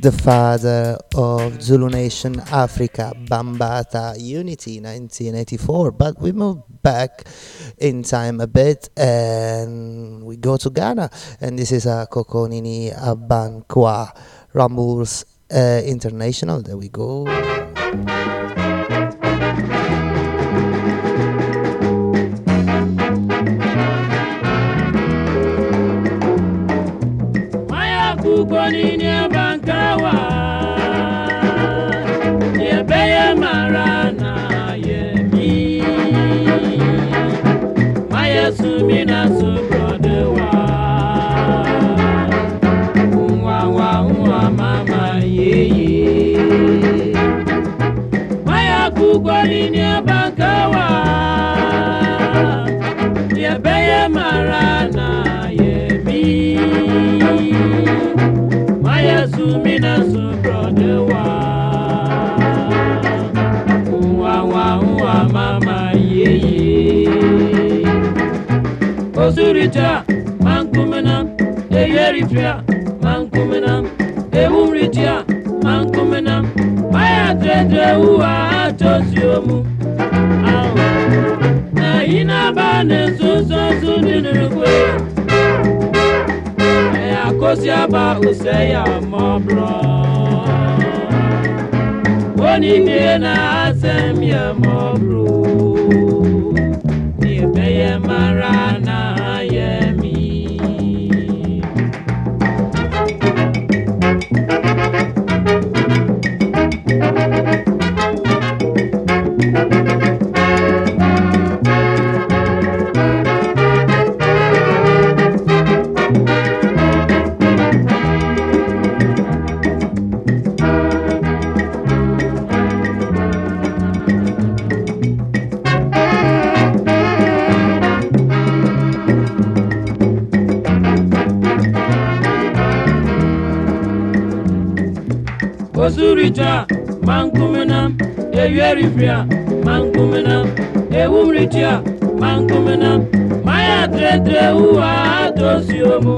the father of Zulu Nation Africa, Bambata Unity, nineteen eighty-four. But we move back in time a bit and we go to Ghana, and this is a Kokonini Abankwa Rambles uh, International. There we go. Kukonini Abankawa, Yebeye Marana Yemi, Maya Sumina Subrodewa, Unwa wa unwa mama ye. Maya Kukonini Abankawa, Yebeye Marana Yemi. Sumina subrodewa, uwa wa uwa mama ye. Osurita mankumena, eyerifia mankumena, ewuritia mankumena, maya tete uwa atosiomu. Na ina bane suso sudinurukwe. Kosiaba useya mobro Woni niena asem ya mobro Niebeye marana yemi Osurita mankumena, eyerifia mankumena, ewuritia mankumena, maya tete uwa atosiomu.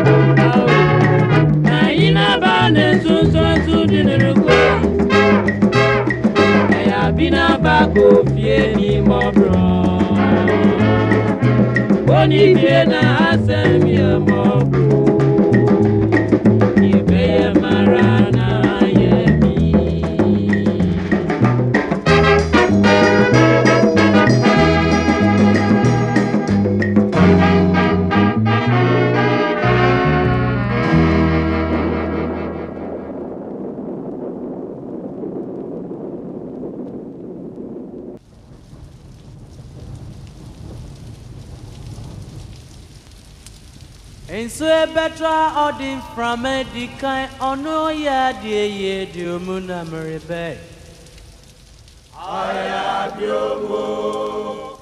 Na ina bane suso sudinirukwe, eya bina bako fie ni mobro, Boni bie na asem ya mobro, Yebeye marana. So better ordin from a decay on no ya dear ye do muna maribe. I have your book.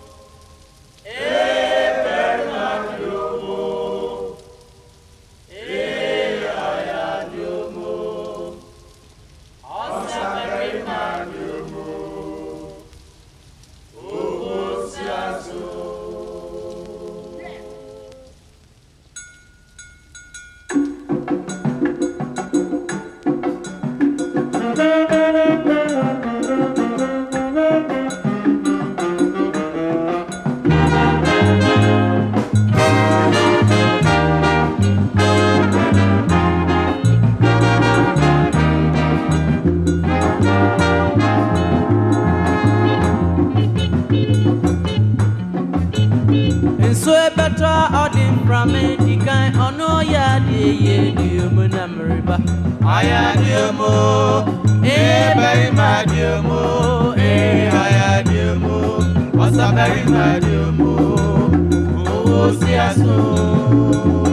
Ayadiomo, eh, very madiomo, eh, ayadiomo, what's a very madiomo, oh, see us so.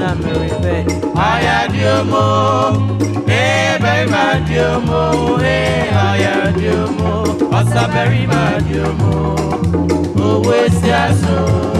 na meribe. Aya diomo, eh baby ma diomo, eh aya diomo, osa berry ma diomo, owe si aso.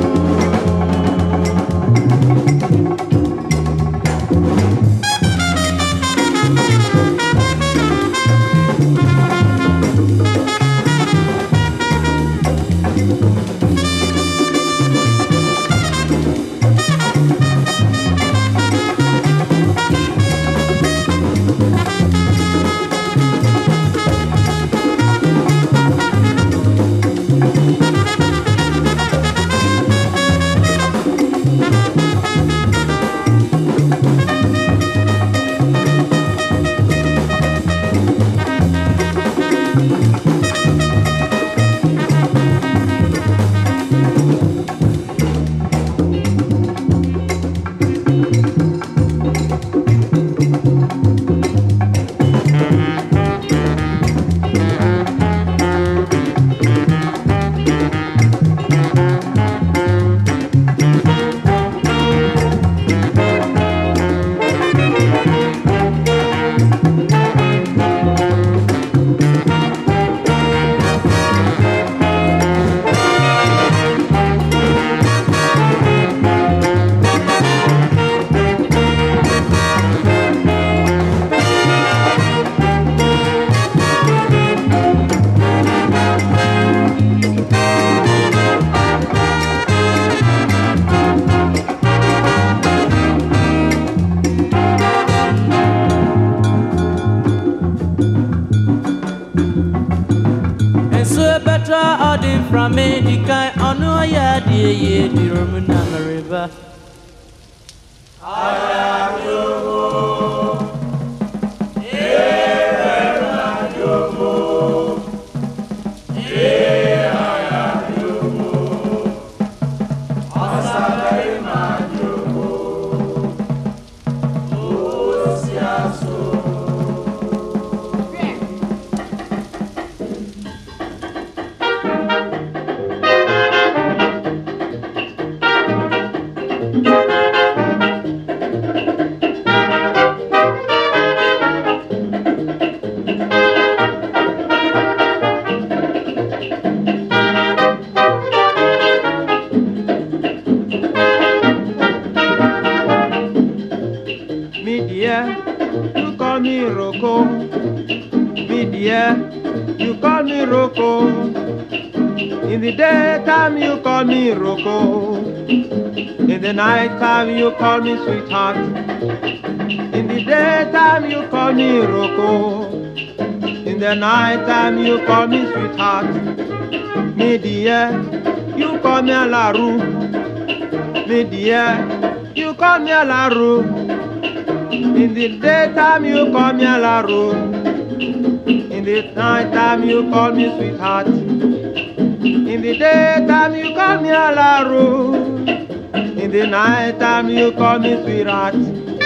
From Medica, on no ya, dear, ye, dear Roman River. I am your home. Yeah, I am your home. Yeah, I am your home. Osabari man your home. Oh, Siaso. In the daytime you call me Rocco. In the nighttime you call me sweetheart. In the daytime you call me Rocco. In the nighttime you call me sweetheart. Me dear, you call me Alaru. Me dear, you call me Alaru. In the daytime you call me Alaru. In the nighttime you call me sweetheart. In the daytime you call me Alaru. In the nighttime you call me sweetheart.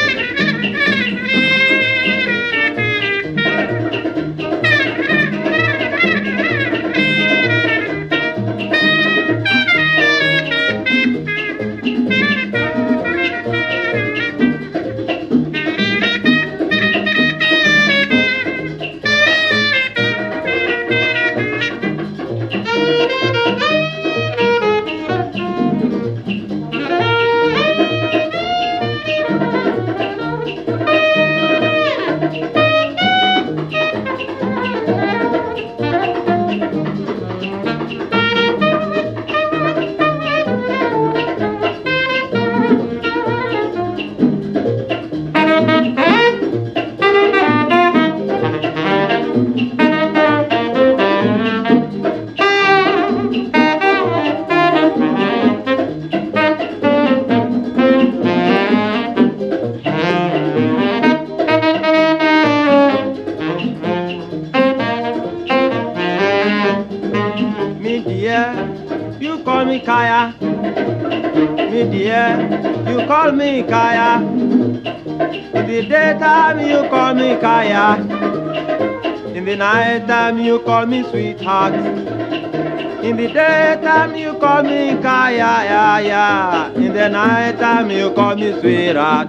Kaya, me dear, you call me Kaya. In the daytime you call me Kaya. In the night time you call me sweetheart. In the daytime you call me Kaya, ya, ya. In the nighttime you call me sweetheart.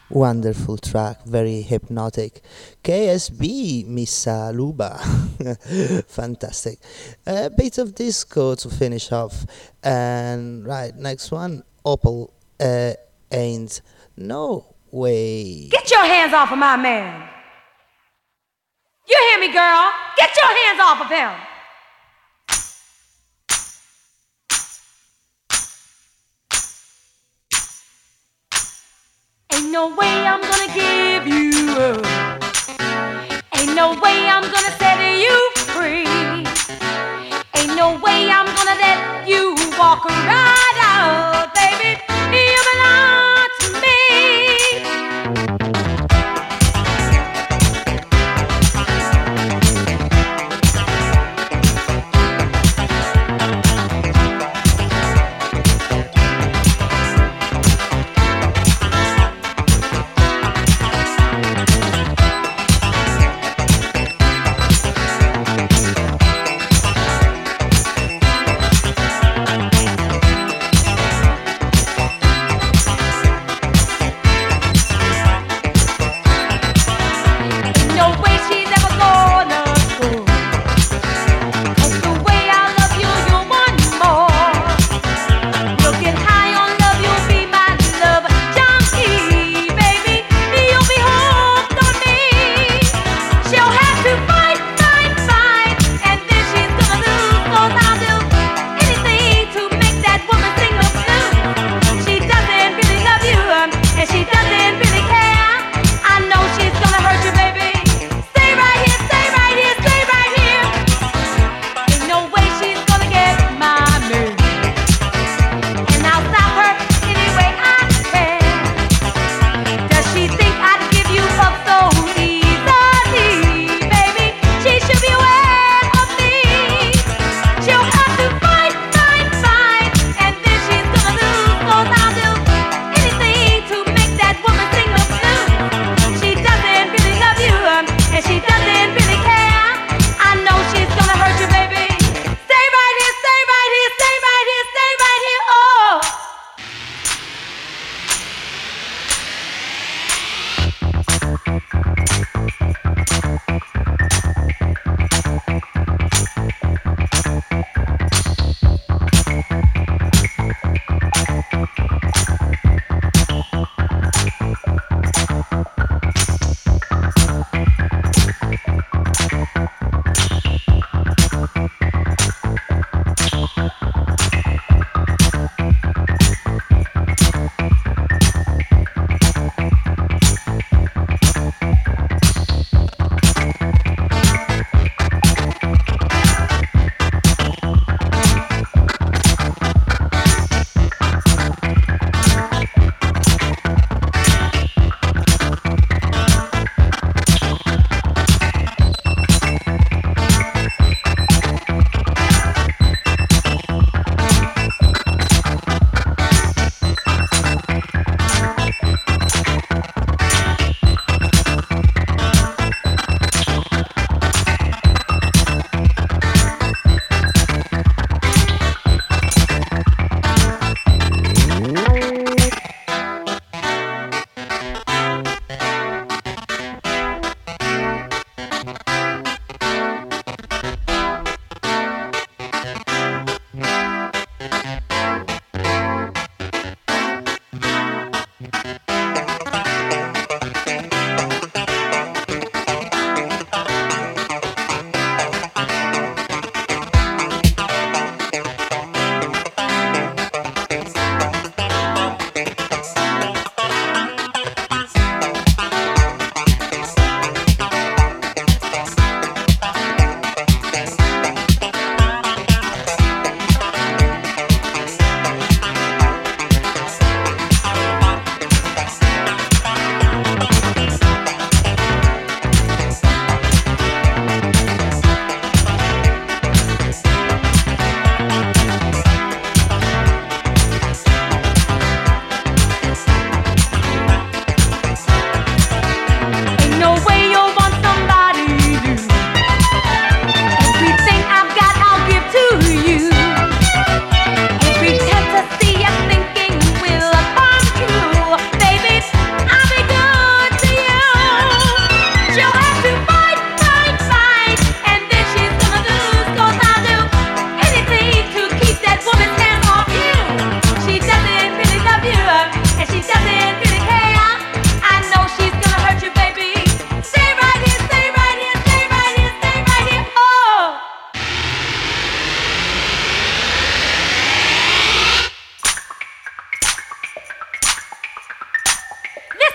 Wonderful track, very hypnotic. K S B, Missa Luba. Fantastic. A bit of disco to finish off. And right, next one, Opal uh, Ain't No Way. Get your hands off of my man. You hear me, girl? Get your hands off of him. Ain't no way I'm gonna give you up. Ain't no way I'm gonna set you free. Ain't no way I'm gonna let you walk right out, baby. You belong to me.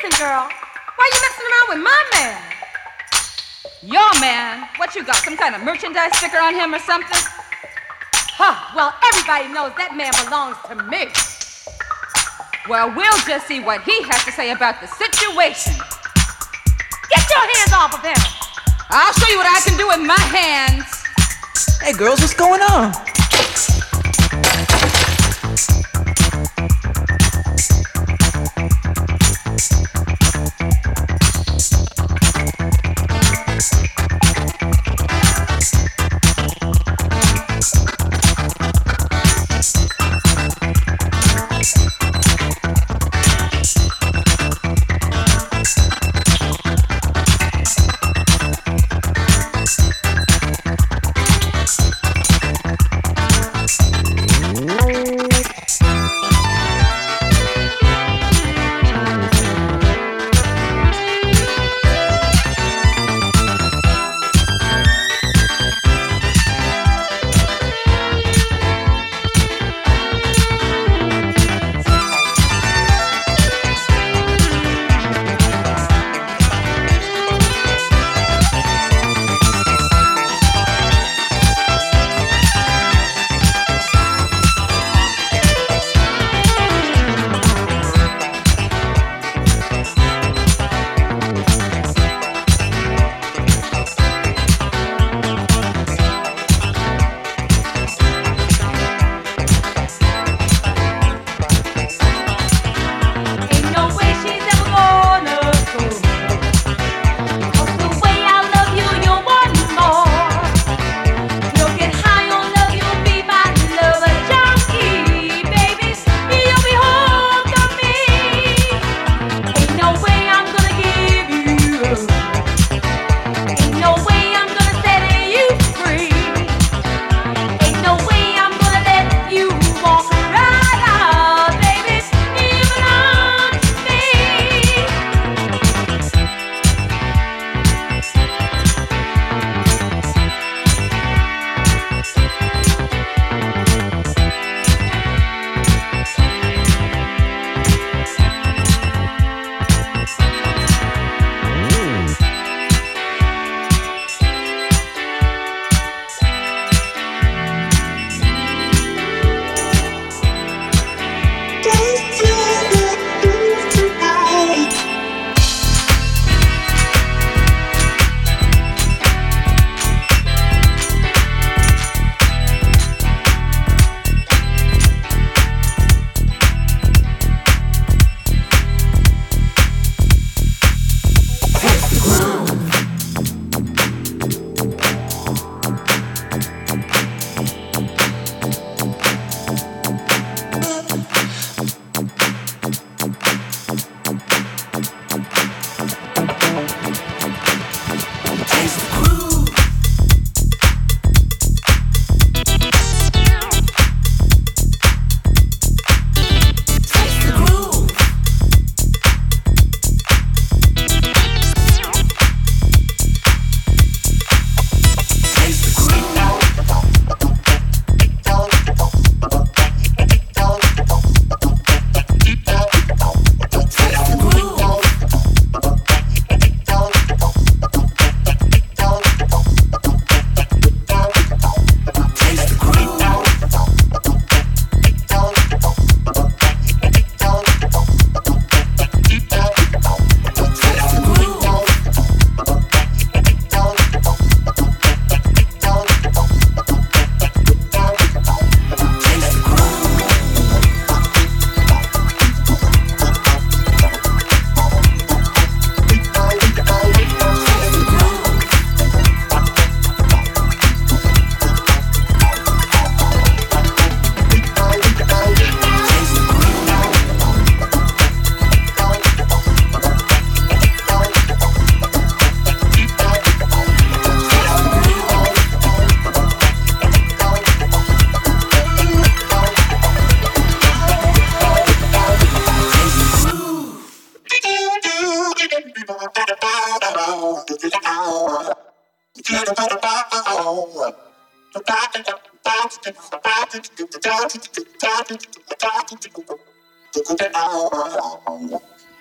listen, girl. Why you messing around with my man? Your man? What you got? Some kind of merchandise sticker on him or something? Huh, well, everybody knows that man belongs to me. Well, we'll just see what he has to say about the situation. Get your hands off of him! I'll show you what I can do with my hands. Hey, girls, what's going on?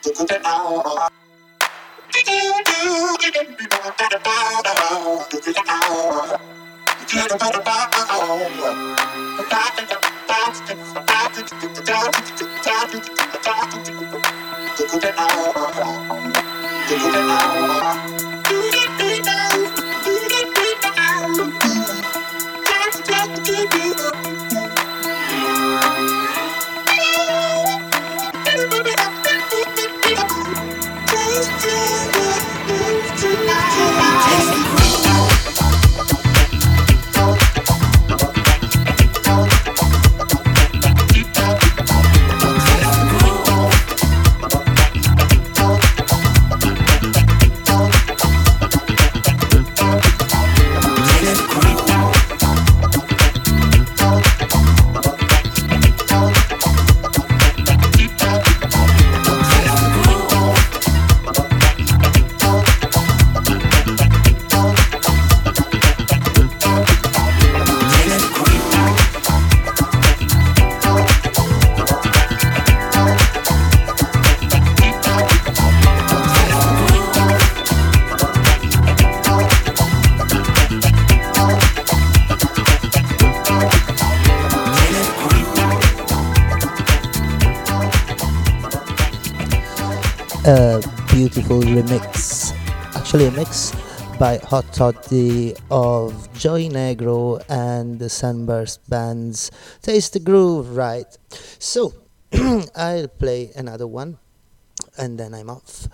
A beautiful remix, actually a mix by Hot Toddy of Joey Negro and the Sunburst Band's Taste the Groove, right? So, I'll play another one and then I'm off.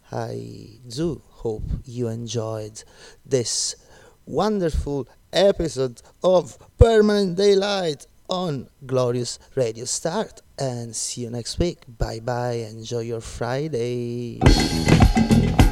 I do hope you enjoyed this wonderful episode of Permanent Daylight on Glorious Radio Start, and see you next week. Bye bye, enjoy your Friday.